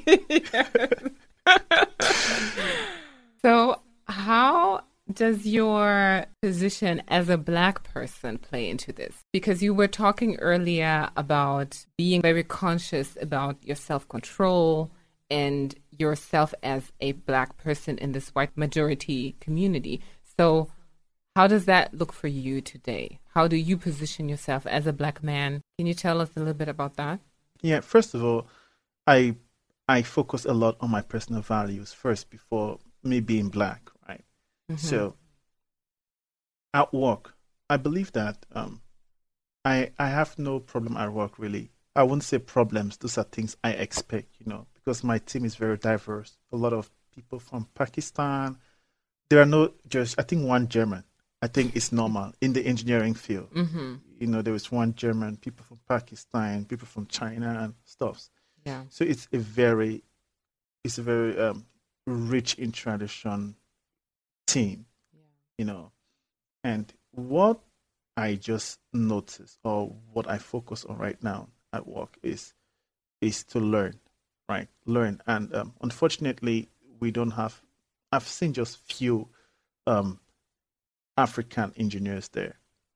So how does your position as a Black person play into this? Because you were talking earlier about being very conscious about your self-control and yourself as a Black person in this white majority community. So how does that look for you today? How do you position yourself as a Black man? Can you tell us a little bit about that? Yeah, first of all, I I focus a lot on my personal values first before me being Black, right? Mm-hmm. So at work, I believe that um, I I have no problem at work really. I wouldn't say problems; those are things I expect, you know, because my team is very diverse. A lot of people from Pakistan. There are no just I think one German. I think it's normal in the engineering field. Mm-hmm. You know, there was one German, people from Pakistan, people from China and stuff. Yeah. So it's a very, it's a very um, rich in tradition team, Yeah. you know. And what I just noticed or what I focus on right now at work is is to learn, right? Learn. And um, unfortunately, we don't have, I've seen just few um, African engineers there.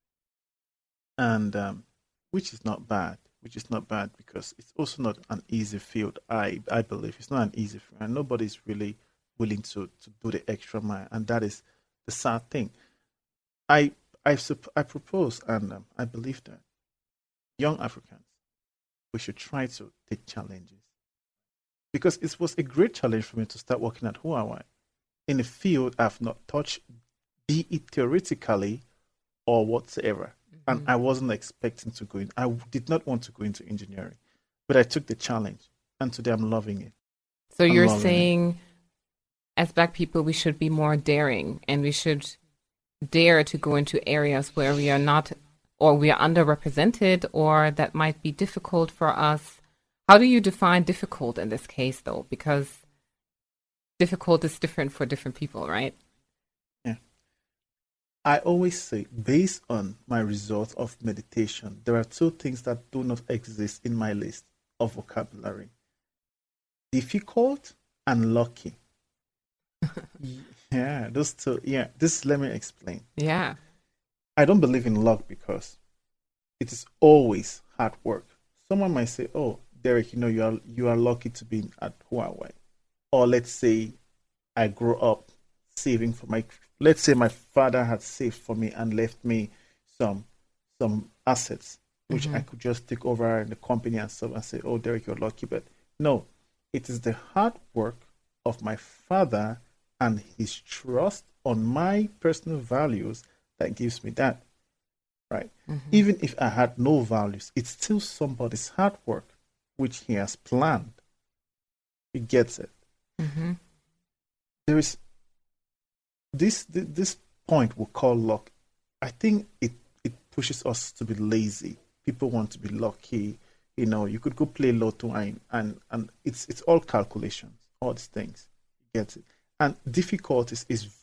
And um, which is not bad, which is not bad because it's also not an easy field. I, I believe it's not an easy field and nobody's really willing to, to do the extra mile. And that is the sad thing. I I, sup- I propose and um, I believe that young Africans, we should try to take challenges. Because it was a great challenge for me to start working at Huawei in a field I've not touched, be it theoretically or whatsoever. Mm-hmm. And I wasn't expecting to go in. I did not want to go into engineering, but I took the challenge. And today I'm loving it. So I'm you're loving saying it. as Black people, we should be more daring and we should dare to go into areas where we are not or we are underrepresented or that might be difficult for us. How do you define difficult in this case, though? Because difficult is different for different people, right? Yeah. I always say, based on my results of meditation, there are two things that do not exist in my list of vocabulary. Difficult and lucky. Yeah, those two. Yeah, this, let me explain. Yeah. I don't believe in luck because it is always hard work. Someone might say, oh, Derek, you know, you are you are lucky to be at Huawei. Or let's say I grew up saving for my, let's say my father had saved for me and left me some some assets, which mm-hmm. I could just take over in the company and stuff and say, oh, Derek, you're lucky. But no, it is the hard work of my father and his trust on my personal values that gives me that, right? Mm-hmm. Even if I had no values, it's still somebody's hard work, which he has planned. He gets it. Mm-hmm. There is this this point we call luck. I think it, it pushes us to be lazy. People want to be lucky. You know, you could go play lotto and and, and it's it's all calculations, all these things. You get it. And difficulties is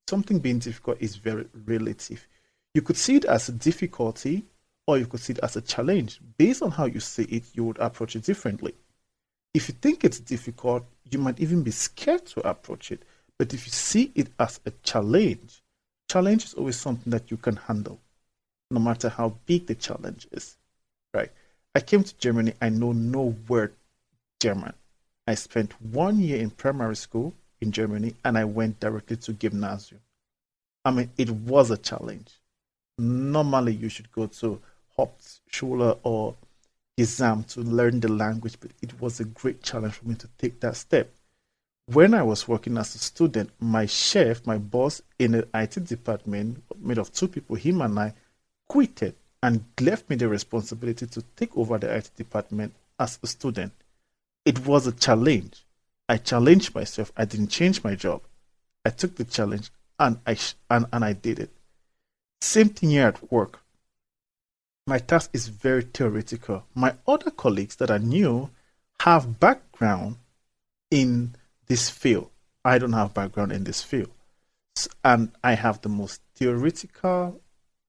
something being difficult is very relative. You could see it as a difficulty or you could see it as a challenge. Based on how you see it, you would approach it differently. If you think it's difficult, you might even be scared to approach it. But if you see it as a challenge, challenge is always something that you can handle, no matter how big the challenge is, right? I came to Germany, I know no word German. I spent one year in primary school in Germany and I went directly to gymnasium. I mean, it was a challenge. Normally, you should go to Hauptschule or exam to learn the language, but it was a great challenge for me to take that step. When I was working as a student, my chef, my boss in the I T department, made of two people, him and I, quitted and left me the responsibility to take over the I T department as a student. It was a challenge. I challenged myself. I didn't change my job. I took the challenge and I and, and I did it. Same thing here at work. My task is very theoretical. My other colleagues that are new have background in this field. I don't have background in this field. And I have the most theoretical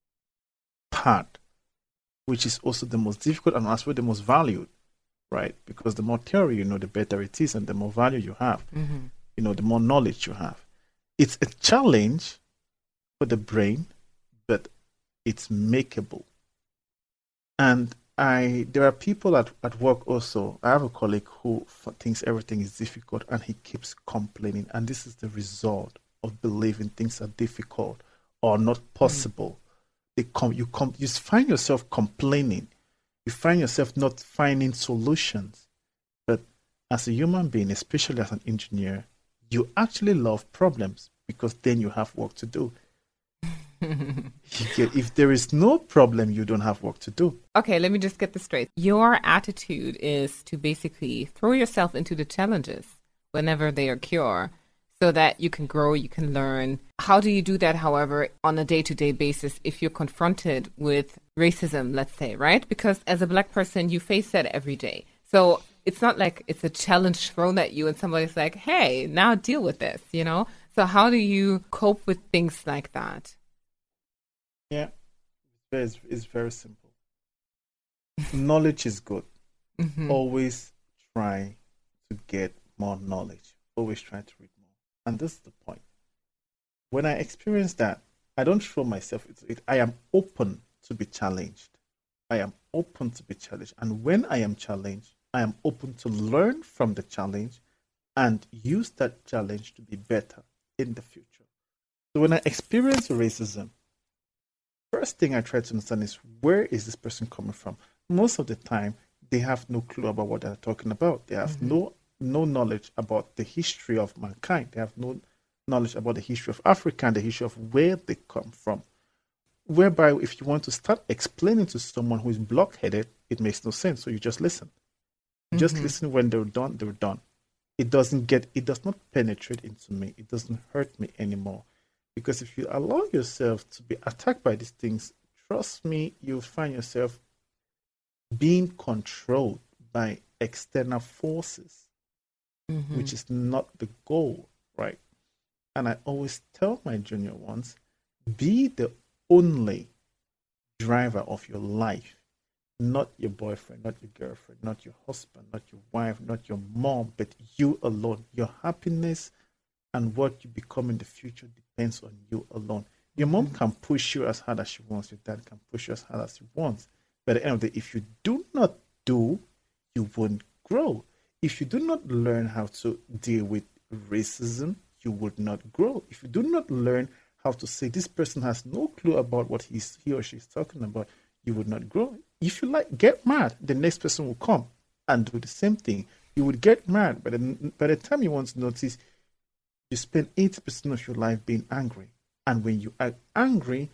part, which is also the most difficult and also the most valued, right? Because the more theory you know, the better it is and the more value you have. Mm-hmm. You know, the more knowledge you have. It's a challenge for the brain, but it's makeable. And I, there are people at, at work also. I have a colleague who thinks everything is difficult and he keeps complaining. And this is the result of believing things are difficult or not possible. Mm. They come, you, come, you find yourself complaining. You find yourself not finding solutions. But as a human being, especially as an engineer, you actually love problems because then you have work to do. If there is no problem, you don't have work to do. Okay, let me just get this straight. Your attitude is to basically throw yourself into the challenges whenever they occur so that you can grow, you can learn. How do you do that, however, on a day-to-day basis if you're confronted with racism, let's say, right? Because as a Black person, you face that every day. So it's not like it's a challenge thrown at you and somebody's like, hey, now deal with this, you know? So how do you cope with things like that? Yeah, it's, it's very simple. Knowledge is good. Mm-hmm. Always try to get more knowledge. Always try to read more. And this is the point. When I experience that, I don't throw myself into it. I am open to be challenged. I am open to be challenged. And when I am challenged, I am open to learn from the challenge and use that challenge to be better in the future. So when I experience racism, first thing I try to understand is, where is this person coming from? Most of the time, they have no clue about what they're talking about. They have mm-hmm. no no knowledge about the history of mankind. They have no knowledge about the history of Africa and the history of where they come from. Whereby, if you want to start explaining to someone who is blockheaded, it makes no sense. So you just listen. Mm-hmm. Just listen. When they're done, they're done. It doesn't get. It does not penetrate into me. It doesn't hurt me anymore. Because if you allow yourself to be attacked by these things, trust me, you'll find yourself being controlled by external forces, mm-hmm. which is not the goal, right? And I always tell my junior ones, be the only driver of your life, not your boyfriend, not your girlfriend, not your husband, not your wife, not your mom, but you alone. Your happiness and what you become in the future depends on you alone. Your mom can push you as hard as she wants. Your dad can push you as hard as he wants. But at the end of the day, if you do not do, you won't grow. If you do not learn how to deal with racism, you would not grow. If you do not learn how to say this person has no clue about what he's, he or she is talking about, you would not grow. If you like, get mad, the next person will come and do the same thing. You would get mad, but by the time you want to notice, you spend eighty percent of your life being angry. And when you are angry,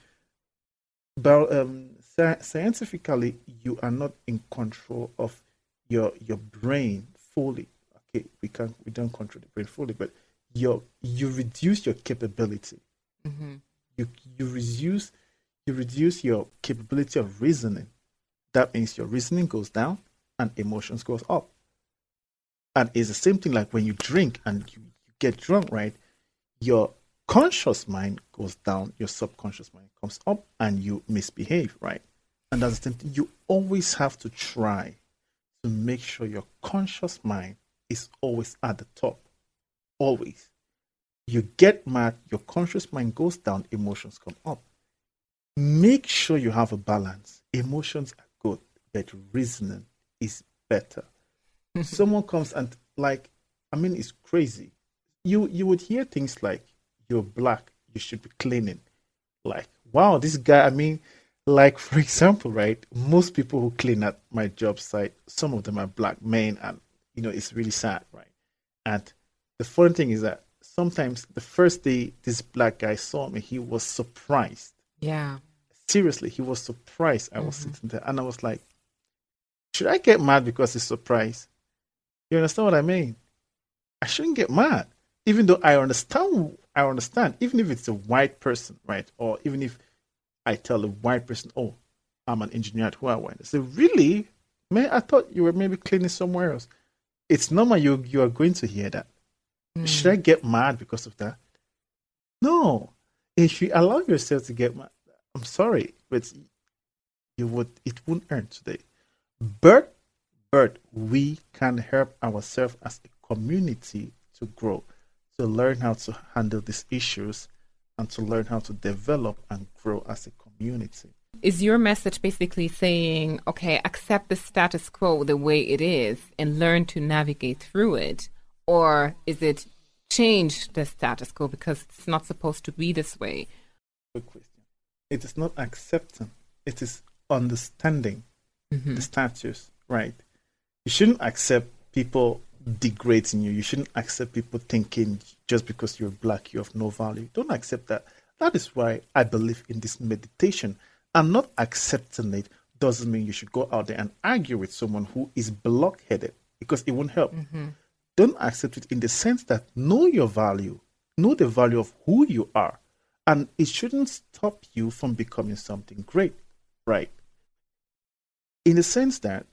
but, um, scientifically, you are not in control of your your brain fully. Okay, we can't we don't control the brain fully, but your you reduce your capability. Mm-hmm. You you reduce you reduce your capability of reasoning. That means your reasoning goes down and emotions goes up. And it's the same thing like when you drink and you get drunk, right? Your conscious mind goes down, your subconscious mind comes up, and you misbehave, right? And that's the thing. You always have to try to make sure your conscious mind is always at the top. Always. You get mad, your conscious mind goes down, emotions come up. Make sure you have a balance. Emotions are good, but reasoning is better. Someone comes and, like, I mean, it's crazy. You you would hear things like, you're black, you should be cleaning. Like, wow, this guy, I mean, like, for example, right, most people who clean at my job site, some of them are black men, and, you know, it's really sad, right? And the funny thing is that sometimes the first day this black guy saw me, he was surprised. Yeah. Seriously, he was surprised I was mm-hmm. sitting there. And I was like, should I get mad because he's surprised? You understand what I mean? I shouldn't get mad. Even though I understand, I understand, even if it's a white person, right? Or even if I tell a white person, oh, I'm an engineer at Huawei. They say, really? Man, I thought you were maybe cleaning somewhere else. It's normal you, you are going to hear that. Mm. Should I get mad because of that? No. If you allow yourself to get mad, I'm sorry, but you would, it won't earn today. But, but we can help ourselves as a community to grow, to learn how to handle these issues, and to learn how to develop and grow as a community. Is your message basically saying, okay, accept the status quo the way it is and learn to navigate through it? Or is it change the status quo because it's not supposed to be this way? Good question. It is not accepting. It is understanding mm-hmm. the status, right? You shouldn't accept people degrading you. You shouldn't accept people thinking just because you're black, you have no value. Don't accept that. That is why I believe in this meditation. And not accepting it doesn't mean you should go out there and argue with someone who is blockheaded, because it won't help. Mm-hmm. Don't accept it in the sense that know your value, know the value of who you are, and it shouldn't stop you from becoming something great, right? In the sense that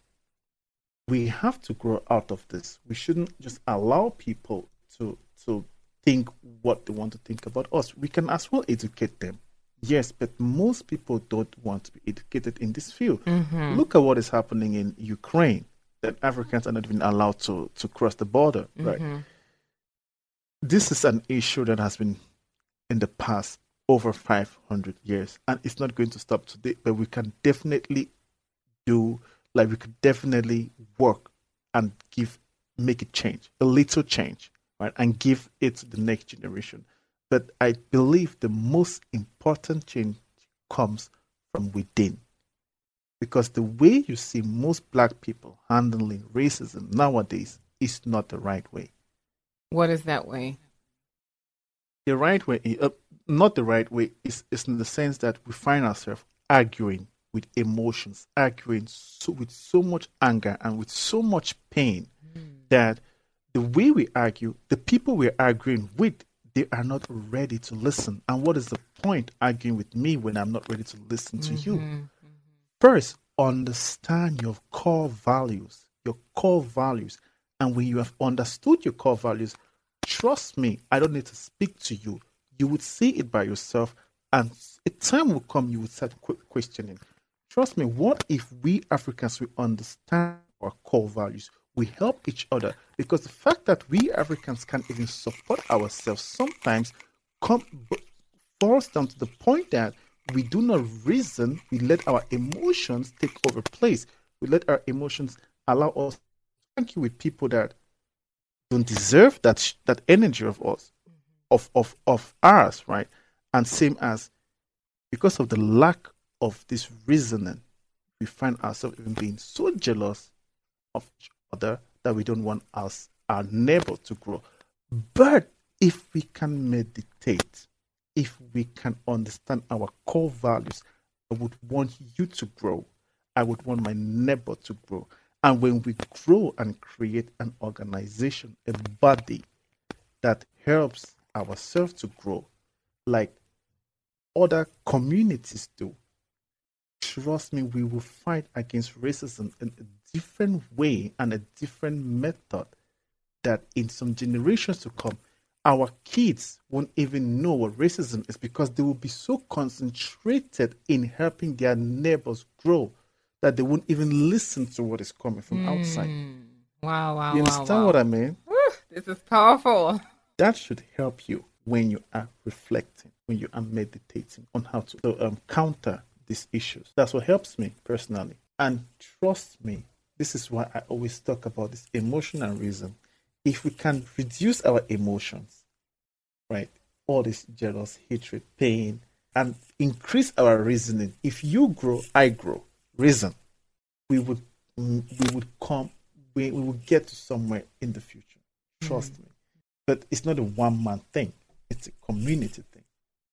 we have to grow out of this. We shouldn't just allow people to to think what they want to think about us. We can as well educate them. Yes, but most people don't want to be educated in this field. Mm-hmm. Look at what is happening in Ukraine, that Africans are not even allowed to, to cross the border, mm-hmm. right? This is an issue that has been in the past over five hundred years, and it's not going to stop today, but we can definitely do, like we could definitely work and give, make it change, a little change, right? And give it to the next generation. But I believe the most important change comes from within. Because the way you see most black people handling racism nowadays is not the right way. What is that way? The right way, uh, not the right way, is, is in the sense that we find ourselves arguing with emotions, arguing so, with so much anger and with so much pain mm. that the way we argue, the people we're arguing with, they are not ready to listen. And what is the point arguing with me when I'm not ready to listen to mm-hmm. you? Mm-hmm. First, understand your core values, your core values. And when you have understood your core values, trust me, I don't need to speak to you. You would see it by yourself, and a time will come you would start questioning. Trust me, what if we Africans, we understand our core values? We help each other, because the fact that we Africans can't even support ourselves sometimes come, falls down to the point that we do not reason, we let our emotions take over place. We let our emotions allow us to argue with people that don't deserve that that energy of us, of, of, of ours, right? And same as, because of the lack of this reasoning, we find ourselves even being so jealous of each other that we don't want us, our neighbor, to grow. But if we can meditate, if we can understand our core values, I would want you to grow. I would want my neighbor to grow. And when we grow and create an organization, a body that helps ourselves to grow, like other communities do, trust me, we will fight against racism in a different way and a different method that in some generations to come, our kids won't even know what racism is because they will be so concentrated in helping their neighbors grow that they won't even listen to what is coming from mm. outside. Wow, wow, you understand wow, wow. what I mean? Woo, this is powerful. That should help you when you are reflecting, when you are meditating on how to so, um, counter these issues. That's what helps me personally. And trust me, this is why I always talk about this emotion and reason. If we can reduce our emotions, right, all this jealous, hatred, pain, and increase our reasoning, if you grow, I grow, reason, we would we would come, we, we would get to somewhere in the future. Trust mm-hmm. me. But it's not a one-man thing. It's a community thing.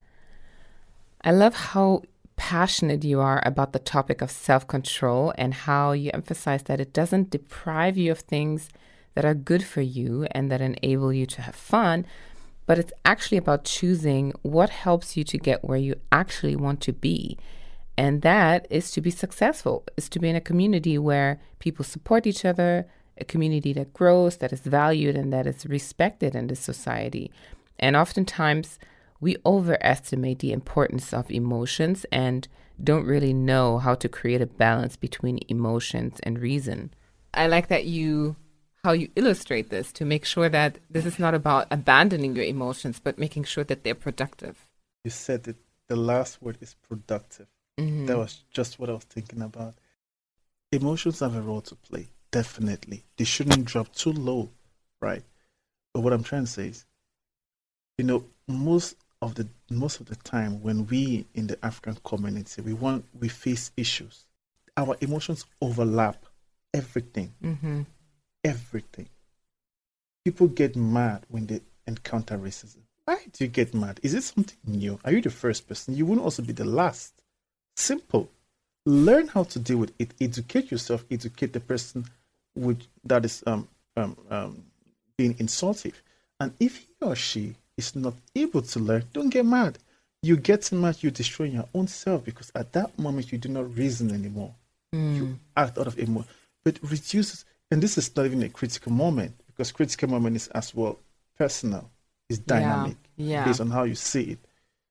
I love how passionate you are about the topic of self-control and how you emphasize that it doesn't deprive you of things that are good for you and that enable you to have fun, but it's actually about choosing what helps you to get where you actually want to be. And that is to be successful, is to be in a community where people support each other, a community that grows, that is valued, and that is respected in this society. And oftentimes, we overestimate the importance of emotions and don't really know how to create a balance between emotions and reason. I like that you, how you illustrate this to make sure that this is not about abandoning your emotions, but making sure that they're productive. You said that the last word is productive. Mm-hmm. That was just what I was thinking about. Emotions have a role to play, definitely. They shouldn't drop too low, right? But what I'm trying to say is, you know, most of the most of the time when we in the African community, we want we face issues. Our emotions overlap everything. Mm-hmm. Everything. People get mad when they encounter racism. Why do you get mad? Is it something new? Are you the first person? You won't also be the last. Simple. Learn how to deal with it. Educate yourself. Educate the person with that is um, um, um, being insultive. And if he or she is not able to learn, don't get mad. You get mad, you're destroying your own self because at that moment you do not reason anymore. Mm. You act out of emotion. But it reduces, and this is not even a critical moment because critical moment is as well personal, it's dynamic yeah. Yeah. based on how you see it.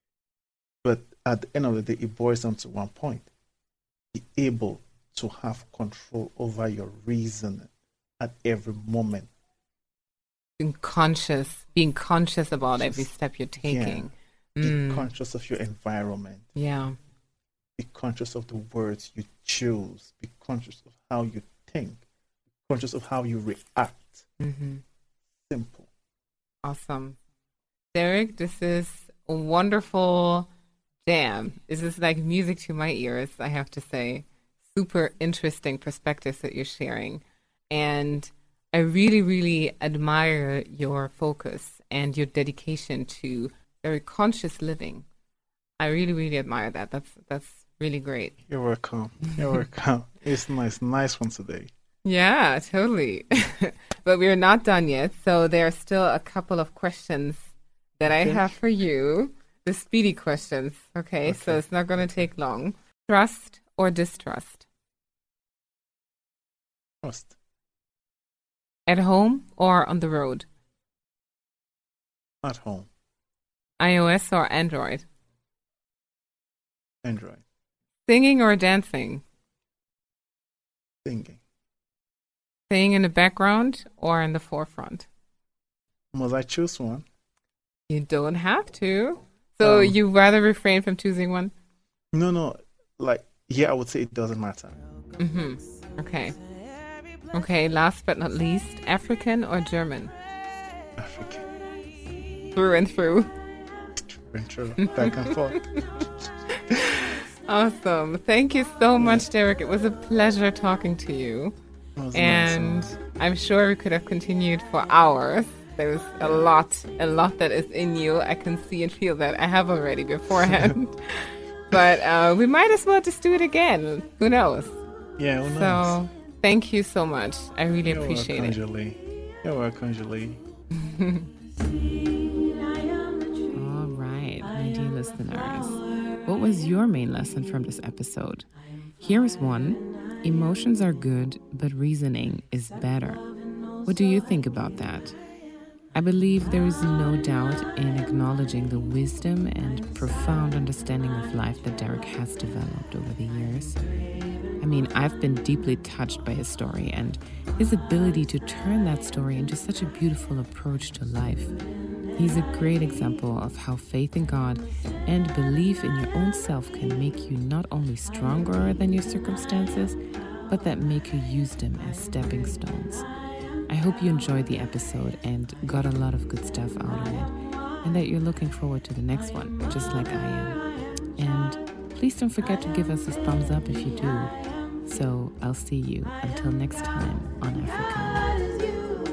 But at the end of the day, it boils down to one point. Be able to have control over your reason at every moment. Being conscious, being conscious about Just, every step you're taking. Yeah. Mm. Be conscious of your environment. Yeah. Be conscious of the words you choose. Be conscious of how you think. Be conscious of how you react. Mm-hmm. Simple. Awesome. Derek, this is a wonderful jam. This is like music to my ears, I have to say. Super interesting perspectives that you're sharing. And I really, really admire your focus and your dedication to very conscious living. I really, really admire that. That's that's really great. You're welcome. You're welcome. It's nice, nice one today. Yeah, totally. But we're not done yet. So there are still a couple of questions that okay. I have for you. The speedy questions. Okay, okay. So it's not going to take long. Trust or distrust? Trust. At home or on the road? At home. iOS or Android? Android. Singing or dancing? Singing. Staying in the background or in the forefront? Must I choose one? You don't have to. So um, you rather refrain from choosing one? No, no. Like, yeah, I would say it doesn't matter. Mm-hmm. Okay. Okay, last but not least, African or German? African. Through and through. Through and through. Back and forth. Awesome. Thank you so much, Derek. It was a pleasure talking to you. And nice. I'm sure we could have continued for hours. There's a lot, a lot that is in you. I can see and feel that. I have already beforehand. But uh, we might as well just do it again. Who knows? Yeah, who knows? So thank you so much. I really You're appreciate welcome, it. Julie. You're welcome, Julie. All right, my dear listeners. What was your main lesson from this episode? Here is one. Emotions are good, but reasoning is better. What do you think about that? I believe there is no doubt in acknowledging the wisdom and profound understanding of life that Derek has developed over the years. I mean, I've been deeply touched by his story and his ability to turn that story into such a beautiful approach to life. He's a great example of how faith in God and belief in your own self can make you not only stronger than your circumstances, but that make you use them as stepping stones. I hope you enjoyed the episode and got a lot of good stuff out of it, and that you're looking forward to the next one, just like I am. And please don't forget to give us a thumbs up if you do. So I'll see you until next time on Africana.